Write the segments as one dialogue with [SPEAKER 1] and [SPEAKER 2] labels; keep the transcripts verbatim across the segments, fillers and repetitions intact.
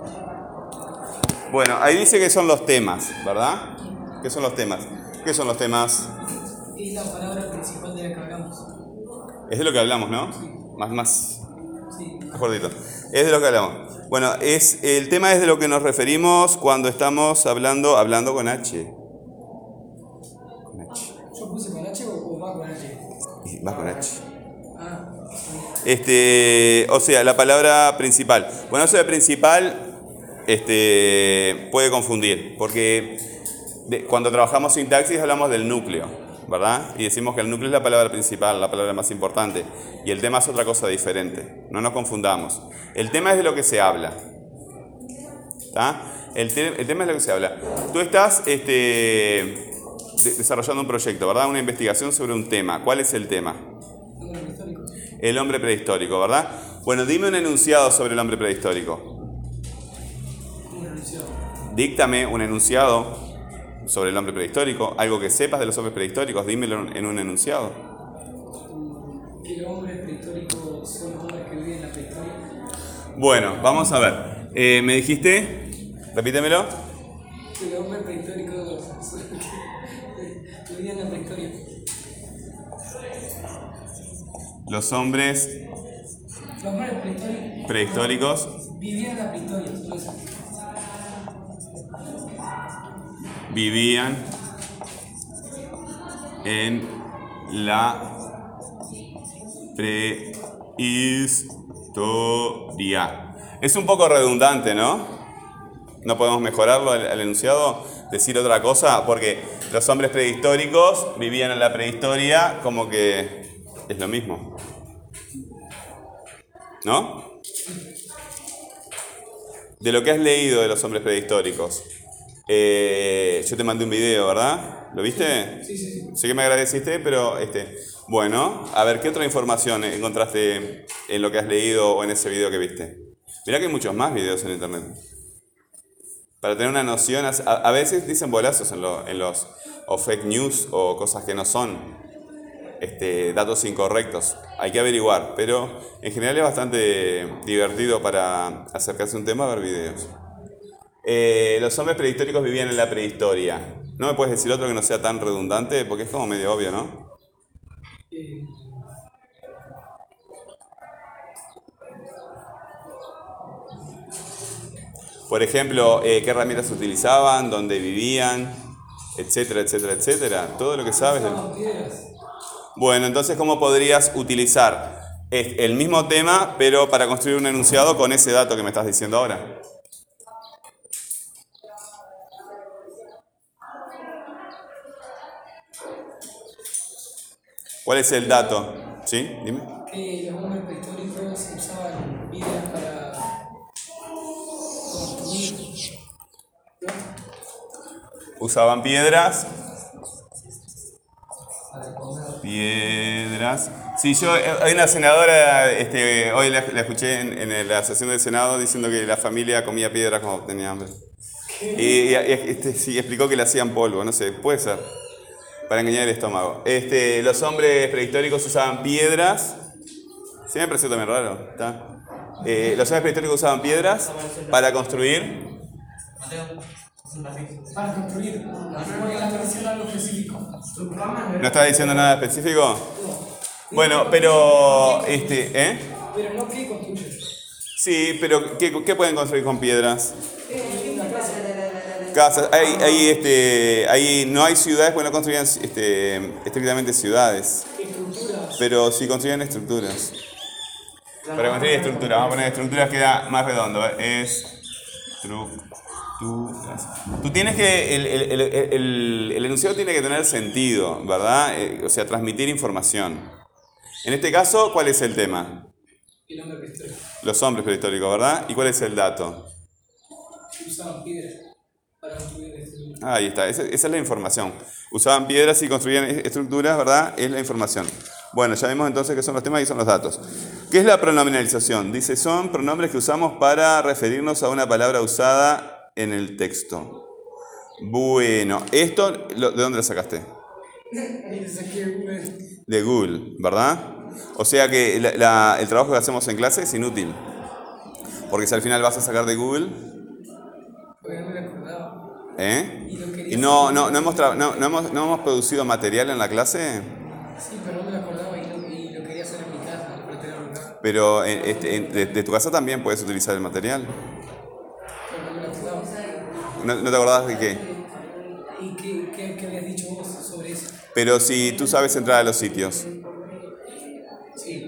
[SPEAKER 1] Bueno, ahí dice que son los temas, ¿verdad? ¿Qué son los temas? ¿Qué son los temas?
[SPEAKER 2] Es la palabra principal de la que hablamos.
[SPEAKER 1] Es de lo que hablamos, ¿no? Más, más.
[SPEAKER 2] Sí.
[SPEAKER 1] Mejor dicho. Es de lo que hablamos. Bueno, es, el tema es de lo que nos referimos cuando estamos hablando, hablando con H. Con H.
[SPEAKER 2] ¿Yo puse con H o va con H?
[SPEAKER 1] Y va con H.
[SPEAKER 2] Ah,
[SPEAKER 1] Este, o sea, la palabra principal. Bueno, eso de principal este, puede confundir, porque de, cuando trabajamos sintaxis hablamos del núcleo, ¿verdad? Y decimos que el núcleo es la palabra principal, la palabra más importante, y el tema es otra cosa diferente. No nos confundamos. El tema es de lo que se habla. ¿Tá? El, te, el tema es de lo que se habla. Tú estás este, de, desarrollando un proyecto, ¿verdad? Una investigación sobre un tema. ¿Cuál es el tema? El hombre prehistórico, ¿verdad? Bueno, dime un enunciado sobre el hombre prehistórico.
[SPEAKER 2] un enunciado.
[SPEAKER 1] Díctame un enunciado sobre el hombre prehistórico, algo que sepas de los hombres prehistóricos, dímelo en un enunciado.
[SPEAKER 2] Que los hombres prehistóricos son los hombres que viven en la prehistoria.
[SPEAKER 1] Bueno, vamos a ver. Eh, ¿Me dijiste? Repítemelo.
[SPEAKER 2] Que los hombres prehistóricos son los que vivían en la prehistoria.
[SPEAKER 1] Los hombres
[SPEAKER 2] Los hombres prehistóricos,
[SPEAKER 1] prehistóricos
[SPEAKER 2] vivían en la prehistoria. Solo eso.
[SPEAKER 1] vivían en la prehistoria. Es un poco redundante, ¿no? No podemos mejorarlo al, al enunciado, decir otra cosa, porque los hombres prehistóricos vivían en la prehistoria como que es lo mismo. ¿No? De lo que has leído de los hombres prehistóricos. Eh, yo te mandé un video, ¿verdad? ¿Lo viste?
[SPEAKER 2] Sí, sí, sí.
[SPEAKER 1] Sé que me agradeciste, pero este, bueno, a ver, ¿qué otra información encontraste en lo que has leído o en ese video que viste? Mirá que hay muchos más videos en internet. Para tener una noción, a, a veces dicen bolazos en, lo, en los o fake news o cosas que no son este, datos incorrectos. Hay que averiguar, pero en general es bastante divertido para acercarse a un tema ver videos. Eh, los hombres prehistóricos vivían en la prehistoria. ¿No me puedes decir otro que no sea tan redundante? Porque es como medio obvio, ¿no?
[SPEAKER 2] Eh,
[SPEAKER 1] Por ejemplo, eh, qué herramientas utilizaban, dónde vivían, etcétera, etcétera, etcétera. Todo lo que sabes. Del...
[SPEAKER 2] usaban piedras.
[SPEAKER 1] Bueno, entonces, ¿cómo podrías utilizar el mismo tema, pero para construir un enunciado con ese dato que me estás diciendo ahora? ¿Cuál es el dato? ¿Sí? Dime.
[SPEAKER 2] Que los hombres prehistóricos usaban piedras para construir. ¿No?
[SPEAKER 1] Usaban piedras.
[SPEAKER 2] Para comer.
[SPEAKER 1] Piedras. Sí, yo, hay una senadora, este, hoy la, la escuché en, en la sesión del Senado diciendo que la familia comía piedras cuando tenía hambre. Y, y este, sí, explicó que le hacían polvo, no sé, puede ser. Para engañar el estómago. Este, los hombres prehistóricos usaban piedras. Sí, me pareció también raro. ¿Está? Eh, los hombres prehistóricos usaban piedras para construir.
[SPEAKER 2] Para construir. Porque la menciona algo específico.
[SPEAKER 1] ¿No estás diciendo nada específico? Bueno, pero. Este, ¿eh?
[SPEAKER 2] Pero no que construyen.
[SPEAKER 1] Sí, pero ¿qué, qué pueden construir con piedras?
[SPEAKER 2] Una casa.
[SPEAKER 1] Casas. Hay, hay, este, hay, no hay ciudades, porque no construían este, estrictamente ciudades.
[SPEAKER 2] Estructuras.
[SPEAKER 1] Pero sí construían estructuras. Para construir estructuras, vamos a poner estructuras, queda más redondo. Estructuras. Tú tienes que. El, el, el, el, el enunciado tiene que tener sentido, ¿verdad? Eh, o sea, transmitir información. En este caso, ¿cuál es el tema?
[SPEAKER 2] El hombre prehistórico.
[SPEAKER 1] Los hombres prehistóricos, ¿verdad? ¿Y cuál es el dato?
[SPEAKER 2] Usaban piedras para construir estructuras.
[SPEAKER 1] Ahí está, esa, esa es la información. Usaban piedras y construían estructuras, ¿verdad? Es la información. Bueno, ya vimos entonces qué son los temas y son los datos. ¿Qué es la pronominalización? Dice, son pronombres que usamos para referirnos a una palabra usada en el texto. Bueno, esto, ¿de dónde lo sacaste? De Google, ¿verdad? O sea que la, la, el trabajo que hacemos en clase es inútil. Porque si al final vas a sacar de Google...
[SPEAKER 2] Porque no me lo acordaba.
[SPEAKER 1] ¿Eh?
[SPEAKER 2] Y, lo
[SPEAKER 1] ¿Y no, no, no, hemos tra- no, no, hemos, no hemos producido material en la clase?
[SPEAKER 2] Sí, pero no me lo acordaba y lo, y lo quería hacer en mi casa, para tenerlo acá.
[SPEAKER 1] Pero en, este, en, de, de tu casa también puedes utilizar el material.
[SPEAKER 2] Pero no me lo acordaba.
[SPEAKER 1] ¿No, no te acordás de qué?
[SPEAKER 2] ¿Y qué, qué, qué habías dicho vos sobre eso?
[SPEAKER 1] Pero si tú sabes entrar a los sitios.
[SPEAKER 2] Sí.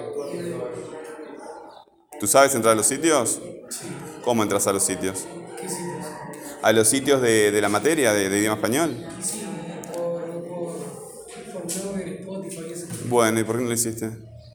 [SPEAKER 1] ¿Tú sabes entrar a los sitios?
[SPEAKER 2] Sí.
[SPEAKER 1] ¿Cómo entras a los sitios?
[SPEAKER 2] ¿Qué sitios?
[SPEAKER 1] ¿A los sitios de, de la materia, de, de idioma español?
[SPEAKER 2] Sí, por, por, por Blogger, Spotify y eso.
[SPEAKER 1] Bueno, ¿y por qué no lo hiciste?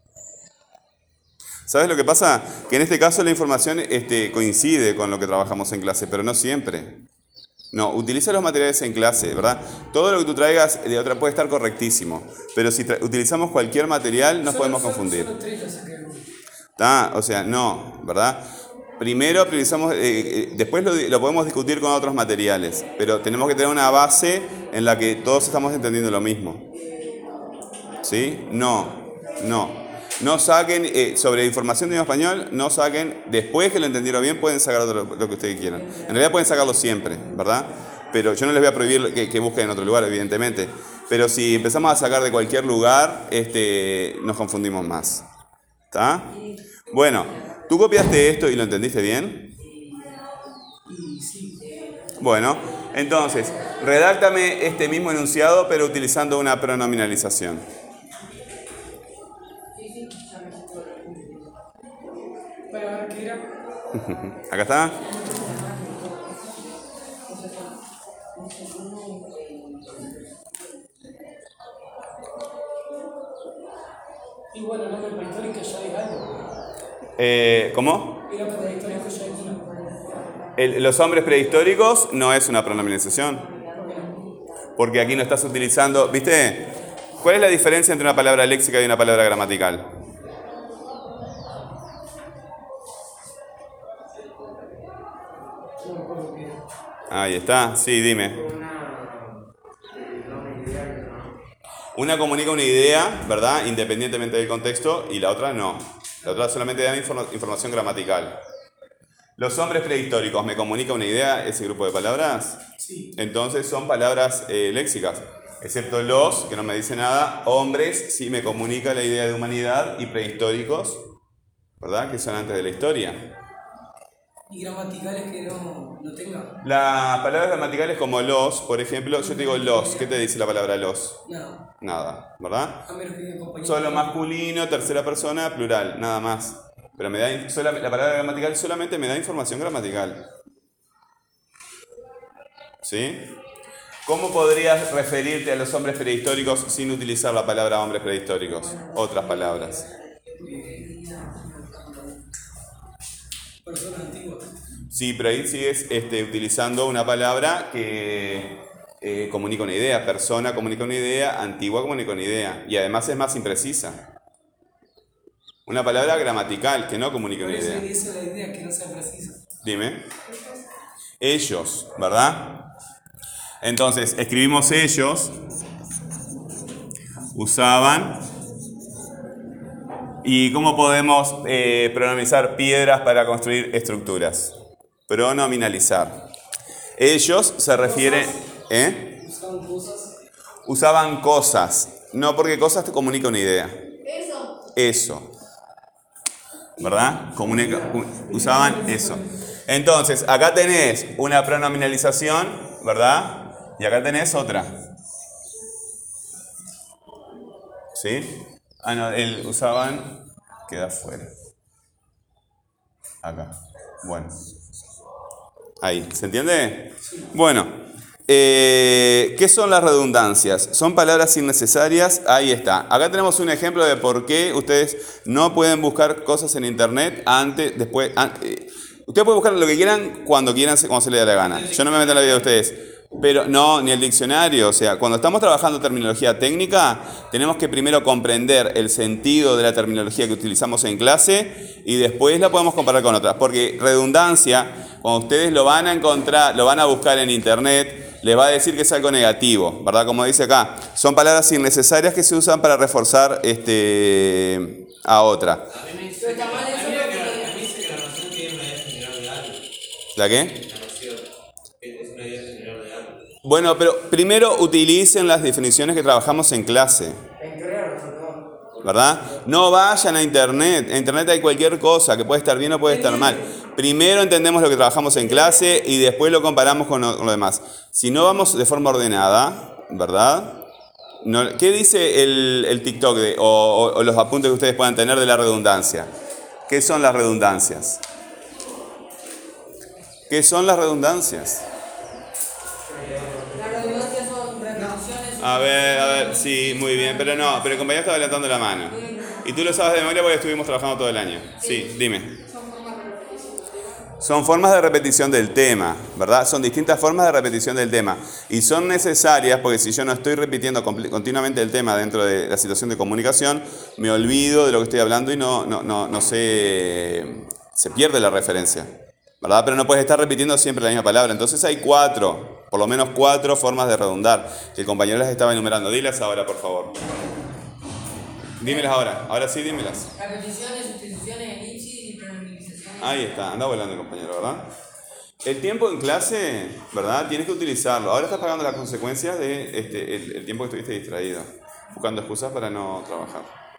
[SPEAKER 1] ¿Sabes lo que pasa? Que en este caso la información este, coincide con lo que trabajamos en clase, pero no siempre. No, utiliza los materiales en clase, ¿verdad? Todo lo que tú traigas de otra puede estar correctísimo, pero si utilizamos cualquier material nos
[SPEAKER 2] Solo-
[SPEAKER 1] podemos
[SPEAKER 2] solo-
[SPEAKER 1] confundir.
[SPEAKER 2] Solo tres lo saqué.
[SPEAKER 1] ¿Está? O sea, no, ¿verdad? Primero priorizamos, eh, eh, después lo, lo podemos discutir con otros materiales, pero tenemos que tener una base en la que todos estamos entendiendo lo mismo. ¿Sí? No, no. No saquen, eh, sobre información de idioma español, no saquen, después que lo entendieron bien, pueden sacar otro, lo que ustedes quieran. En realidad pueden sacarlo siempre, ¿verdad? Pero yo no les voy a prohibir que, que busquen en otro lugar, evidentemente. Pero si empezamos a sacar de cualquier lugar, este, nos confundimos más. ¿Está? Bueno, ¿tú copiaste esto y lo entendiste bien?
[SPEAKER 2] Y sí.
[SPEAKER 1] Bueno, entonces, redáctame este mismo enunciado, pero utilizando una pronominalización.
[SPEAKER 2] Para ver qué era.
[SPEAKER 1] Acá está.
[SPEAKER 2] Y bueno, el nombre prehistórico ya es algo.
[SPEAKER 1] Eh, ¿Cómo?
[SPEAKER 2] Y lo prehistórico ya es una.
[SPEAKER 1] El- los hombres prehistóricos no es una pronominalización. Porque aquí no estás utilizando... ¿Viste? ¿Cuál es la diferencia entre una palabra léxica y una palabra gramatical? Ahí está. Sí, dime. Una comunica una idea, ¿verdad? Independientemente del contexto, y la otra no. La otra solamente da informa- información gramatical. ¿Los hombres prehistóricos me comunica una idea, ese grupo de palabras?
[SPEAKER 2] Sí.
[SPEAKER 1] Entonces son palabras eh, léxicas. Excepto los, que no me dice nada. Hombres sí me comunica la idea de humanidad. Y prehistóricos, ¿verdad? Que son antes de la historia.
[SPEAKER 2] Y gramaticales que no, no tengan.
[SPEAKER 1] Las palabras gramaticales como los, por ejemplo, yo te digo los. ¿Qué te dice la palabra los?
[SPEAKER 2] Nada.
[SPEAKER 1] Nada, ¿verdad?
[SPEAKER 2] A menos que diga compañero.
[SPEAKER 1] Solo masculino, tercera persona, plural, nada más. Pero me da, sola- la palabra gramatical solamente me da información gramatical. ¿Sí? ¿Cómo podrías referirte a los hombres prehistóricos sin utilizar la palabra hombres prehistóricos? Otras palabras.
[SPEAKER 2] Personas antiguas.
[SPEAKER 1] Sí, pero ahí sigues este, utilizando una palabra que eh, comunica una idea. Persona comunica una idea, antigua comunica una idea. Y además es más imprecisa. Una palabra gramatical que no comunica
[SPEAKER 2] Por
[SPEAKER 1] una
[SPEAKER 2] eso
[SPEAKER 1] idea.
[SPEAKER 2] esa es la idea, que no sea precisa.
[SPEAKER 1] Dime. Ellos, ¿verdad? Entonces, escribimos ellos. Usaban. ¿Y cómo podemos eh, pronominalizar piedras para construir estructuras? Pronominalizar. Ellos se refieren... ¿Eh?
[SPEAKER 2] Usaban cosas.
[SPEAKER 1] Usaban cosas. No, porque cosas te comunica una idea.
[SPEAKER 3] Eso.
[SPEAKER 1] Eso. ¿Verdad? Comunica, usaban eso. Entonces, acá tenés una pronominalización, ¿verdad? Y acá tenés otra. ¿Sí? Ah, no, el usaban queda fuera. Acá. Bueno. Ahí, ¿se entiende? Bueno, eh, ¿qué son las redundancias? Son palabras innecesarias. Ahí está. Acá tenemos un ejemplo de por qué ustedes no pueden buscar cosas en internet antes, después. An- eh, ustedes pueden buscar lo que quieran cuando quieran, cuando se les dé la gana. Yo no me meto en la vida de ustedes. Pero no, ni el diccionario. O sea, cuando estamos trabajando terminología técnica, tenemos que primero comprender el sentido de la terminología que utilizamos en clase y después la podemos comparar con otras. Porque redundancia, cuando ustedes lo van a encontrar, lo van a buscar en internet, les va a decir que es algo negativo, ¿verdad? Como dice acá, son palabras innecesarias que se usan para reforzar este, a otra.
[SPEAKER 3] Pero está mal eso porque
[SPEAKER 1] ¿La qué? Bueno, pero primero utilicen las definiciones que trabajamos en clase. ¿Verdad? No vayan a internet. En internet hay cualquier cosa que puede estar bien o puede estar mal. Primero entendemos lo que trabajamos en clase y después lo comparamos con lo, con lo demás. Si no vamos de forma ordenada, ¿verdad? No, ¿qué dice el, el TikTok de, o, o, o los apuntes que ustedes puedan tener de la redundancia? ¿Qué son las redundancias? ¿Qué son las redundancias?
[SPEAKER 2] Las redundancias son repeticiones.
[SPEAKER 1] A ver, a ver, sí, muy bien, pero no, pero el compañero estaba levantando la mano. Y tú lo sabes de memoria porque estuvimos trabajando todo el año. Sí, dime. Son formas de repetición del tema, ¿verdad? Son distintas formas de repetición del tema. Y son necesarias porque si yo no estoy repitiendo continuamente el tema dentro de la situación de comunicación, me olvido de lo que estoy hablando y no, no, no, no sé, se pierde la referencia, ¿verdad? Pero no puedes estar repitiendo siempre la misma palabra. Entonces hay cuatro, por lo menos cuatro formas de redundar. El compañero las estaba enumerando. Dilas ahora, por favor. Dímelas ahora. Ahora sí, dímelas.
[SPEAKER 2] Repeticiones, sustituciones, elipsis y pronomizaciones.
[SPEAKER 1] Ahí está, anda volando el compañero, ¿verdad? El tiempo en clase, ¿verdad? Tienes que utilizarlo. Ahora estás pagando las consecuencias de este, el, el tiempo que estuviste distraído, buscando excusas para no trabajar.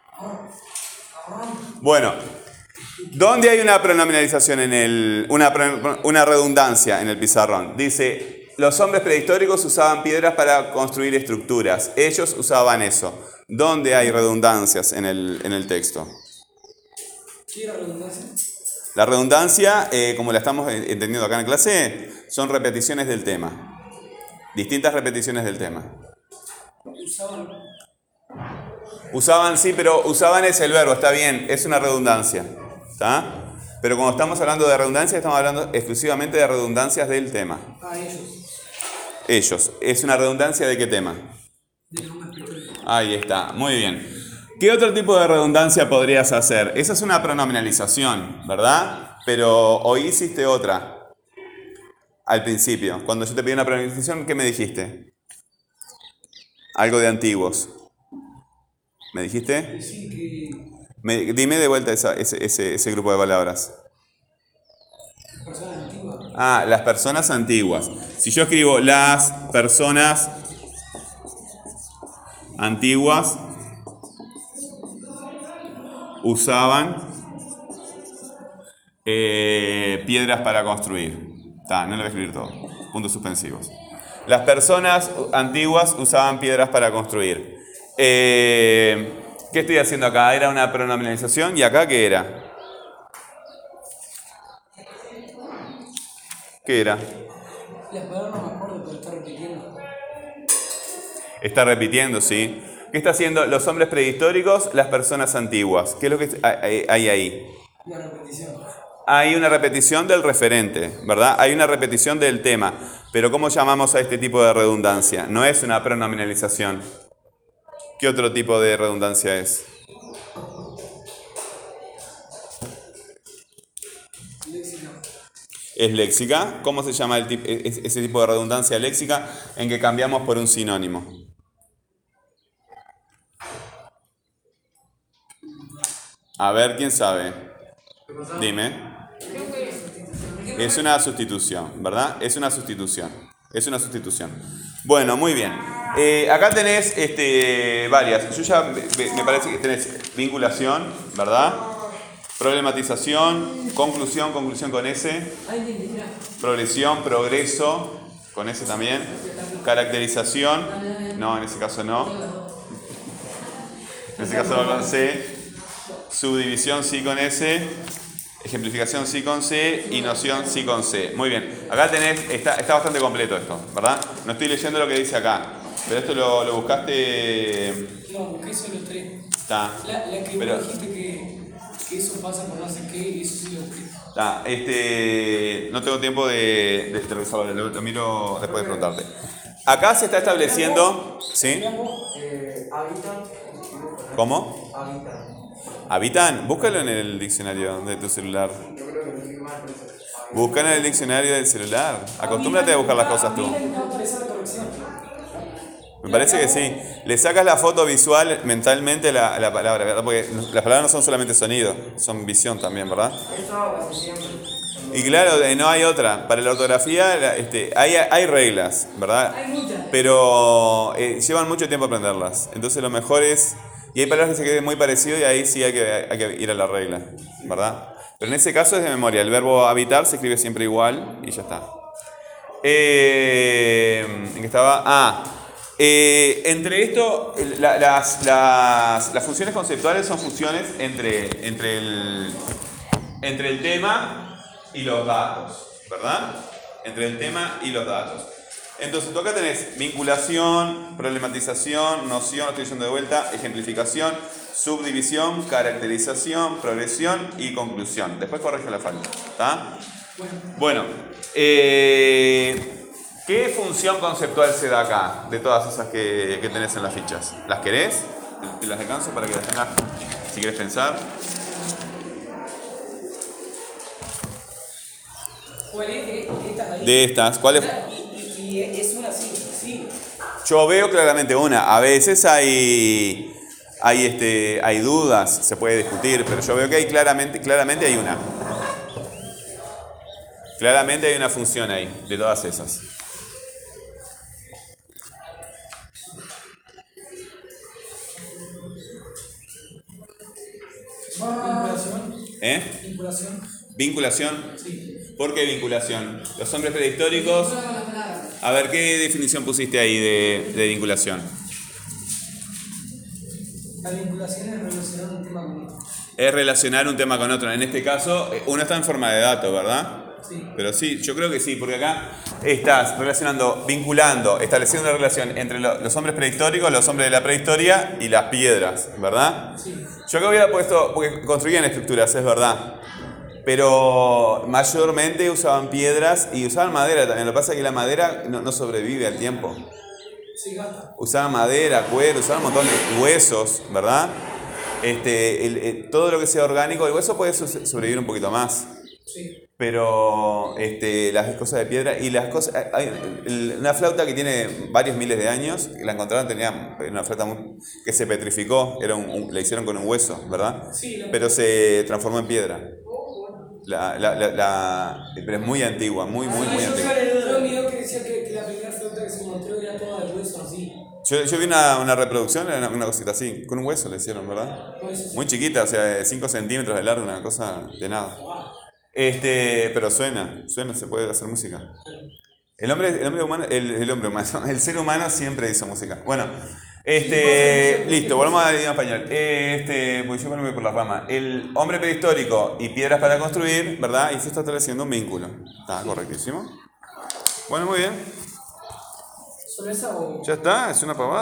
[SPEAKER 1] Bueno, ¿dónde hay una pronominalización en el, una, una redundancia en el pizarrón? Dice, los hombres prehistóricos usaban piedras para construir estructuras. Ellos usaban eso. ¿Dónde hay redundancias en el, en el texto?
[SPEAKER 2] ¿Qué era redundancia?
[SPEAKER 1] La redundancia, eh, como la estamos entendiendo acá en clase, son repeticiones del tema. Distintas repeticiones del tema.
[SPEAKER 2] Usaban.
[SPEAKER 1] Usaban, sí, pero usaban es el verbo, está bien, es una redundancia. ¿Está? Pero cuando estamos hablando de redundancia, estamos hablando exclusivamente de redundancias del tema.
[SPEAKER 2] Ah, ellos.
[SPEAKER 1] Ellos. ¿Es una redundancia de qué tema?
[SPEAKER 2] De los hombres prehistóricos.
[SPEAKER 1] Ahí está, muy bien. ¿Qué otro tipo de redundancia podrías hacer? Esa es una pronominalización, ¿verdad? Pero hoy hiciste otra. Al principio, cuando yo te pedí una pronominalización, ¿qué me dijiste? Algo de antiguos. ¿Me dijiste?
[SPEAKER 2] Sí, que
[SPEAKER 1] Me, dime de vuelta esa, ese, ese, ese grupo de palabras.
[SPEAKER 2] personas antiguas.
[SPEAKER 1] Ah, las personas antiguas. Si yo escribo las personas antiguas usaban eh, piedras para construir. Ta, no lo voy a escribir todo. Puntos suspensivos. Las personas antiguas usaban piedras para construir. Eh, ¿Qué estoy haciendo acá? Era una pronominalización. ¿Y acá qué era? ¿Qué era?
[SPEAKER 2] Las palabras no me acuerdo, pero está repitiendo.
[SPEAKER 1] Está repitiendo, sí. ¿Qué está haciendo los hombres prehistóricos, las personas antiguas? ¿Qué es lo que hay ahí?
[SPEAKER 2] Una repetición.
[SPEAKER 1] Hay una repetición del referente, ¿verdad? Hay una repetición del tema. Pero ¿cómo llamamos a este tipo de redundancia? No es una pronominalización. ¿Qué otro tipo de redundancia es?
[SPEAKER 2] Léxica.
[SPEAKER 1] ¿Es léxica? ¿Cómo se llama el tip- ese tipo de redundancia léxica en que cambiamos por un sinónimo? A ver, ¿quién sabe? Dime. Es una sustitución, ¿verdad? Es una sustitución. Es una sustitución. Bueno, muy bien. Eh, acá tenés este, varias. Yo ya me, me parece que tenés vinculación, ¿verdad? Problematización, conclusión, conclusión con S. Progresión, progreso, con S también. Caracterización, no, en ese caso no. En ese caso va con C. Subdivisión sí con S. Ejemplificación sí con C y noción sí con C. Muy bien. Acá tenés, está, está bastante completo esto, ¿verdad? No estoy leyendo lo que dice acá. Pero esto lo, lo buscaste.
[SPEAKER 2] No, busqué solo tres.
[SPEAKER 1] Está.
[SPEAKER 2] La, la que
[SPEAKER 1] Pero,
[SPEAKER 2] vos dijiste que, que eso pasa por no sé qué, eso sí lo busqué.
[SPEAKER 1] está. Este, no tengo tiempo de, de, de resolverlo, lo, lo miro después de preguntarte. Acá se está estableciendo. ¿Sí?
[SPEAKER 3] Eh, habitan.
[SPEAKER 1] ¿Cómo?
[SPEAKER 3] Habitan.
[SPEAKER 1] ¿Habitan? Búscalo en el diccionario de tu celular.
[SPEAKER 3] Yo creo que no estoy mal, pero eso.
[SPEAKER 1] Búscalo en el diccionario del celular. Acostúmbrate a buscar las cosas tú.
[SPEAKER 2] A mí me va a aparecer la corrección.
[SPEAKER 1] Me parece que sí. Le sacas la foto visual mentalmente a la, a la palabra, ¿verdad? Porque las palabras no son solamente sonido, son visión también, ¿verdad?
[SPEAKER 3] Eso casi siempre.
[SPEAKER 1] Y claro, eh, no hay otra. Para la ortografía la- este, hay, hay reglas, ¿verdad?
[SPEAKER 2] Hay muchas.
[SPEAKER 1] Pero eh, llevan mucho tiempo aprenderlas. Entonces lo mejor es... Y hay palabras que se queden muy parecidas y ahí sí hay que, hay que ir a la regla, ¿verdad? Pero en ese caso es de memoria. El verbo habitar se escribe siempre igual y ya está. Eh, ¿En qué estaba? Ah, eh, entre esto, la- las, las, las funciones conceptuales son funciones entre, entre, el, entre el tema y los datos, ¿verdad? Entre el tema y los datos. Entonces, tú acá tenés vinculación, problematización, noción, lo estoy diciendo de vuelta, ejemplificación, subdivisión, caracterización, progresión y conclusión. Después corrige la falta, ¿está? Bueno, eh, ¿qué función conceptual se da acá de todas esas que, que tenés en las fichas? ¿Las querés? Te las alcanzo para que las tengas si querés pensar.
[SPEAKER 2] ¿Cuál es de estas ahí?
[SPEAKER 1] De estas, ¿cuál es?
[SPEAKER 2] Y, y, y es una así, sí.
[SPEAKER 1] Yo veo claramente una. A veces hay, hay, este, hay dudas, se puede discutir, pero yo veo que hay claramente, claramente hay una. Claramente hay una función ahí, de todas esas.
[SPEAKER 2] Vinculación.
[SPEAKER 1] ¿Eh?
[SPEAKER 2] Vinculación.
[SPEAKER 1] Vinculación.
[SPEAKER 2] Sí.
[SPEAKER 1] ¿Por qué vinculación? Los hombres prehistóricos. A ver, ¿qué definición pusiste ahí de, de vinculación?
[SPEAKER 2] La vinculación es relacionar un tema con otro.
[SPEAKER 1] Es relacionar un tema con otro. En este caso, uno está en forma de dato, ¿verdad?
[SPEAKER 2] Sí.
[SPEAKER 1] Pero sí, yo creo que sí, porque acá estás relacionando, vinculando, estableciendo una relación entre lo- los hombres prehistóricos, los hombres de la prehistoria y las piedras, ¿verdad?
[SPEAKER 2] Sí.
[SPEAKER 1] Yo acá hubiera puesto, porque construían estructuras, es verdad. Pero mayormente usaban piedras y usaban madera también. Lo que pasa es que la madera no, no sobrevive al tiempo.
[SPEAKER 2] Sí, gasta.
[SPEAKER 1] Usaban madera, cuero, usaban un montón de huesos, ¿verdad? Este, el- el- todo lo que sea orgánico, el hueso puede so- sobrevivir un poquito más.
[SPEAKER 2] Sí.
[SPEAKER 1] Pero este, las cosas de piedra y las cosas... Hay el- una flauta que tiene varios miles de años, la encontraron, tenía una flauta muy- que se petrificó, era un- un- la hicieron con un hueso, ¿verdad?
[SPEAKER 2] Sí, la-
[SPEAKER 1] Pero se transformó en piedra.
[SPEAKER 2] Oh, bueno.
[SPEAKER 1] La, la, la, la- pero es muy antigua, muy, muy, muy
[SPEAKER 2] yo
[SPEAKER 1] antigua.
[SPEAKER 2] vi un video que decía que, que la primera flauta que se encontró era toda de hueso así.
[SPEAKER 1] Yo, yo vi una, una reproducción, una, una cosita así, con un hueso le hicieron, ¿verdad?
[SPEAKER 2] Hueso, sí.
[SPEAKER 1] Muy chiquita, o sea, cinco centímetros de largo, una cosa de nada.
[SPEAKER 2] Wow.
[SPEAKER 1] Este, pero suena, suena, se puede hacer música. El hombre, el hombre humano, el, el hombre humano, el ser humano siempre hizo música. Bueno, este, listo, volvamos al idioma español. Este, pues yo me voy por la rama. El hombre prehistórico y piedras para construir, ¿verdad? Y se está estableciendo un vínculo. Está correctísimo. Bueno, muy bien.
[SPEAKER 2] ¿Solo esa o...?
[SPEAKER 1] Ya está, es una pavada.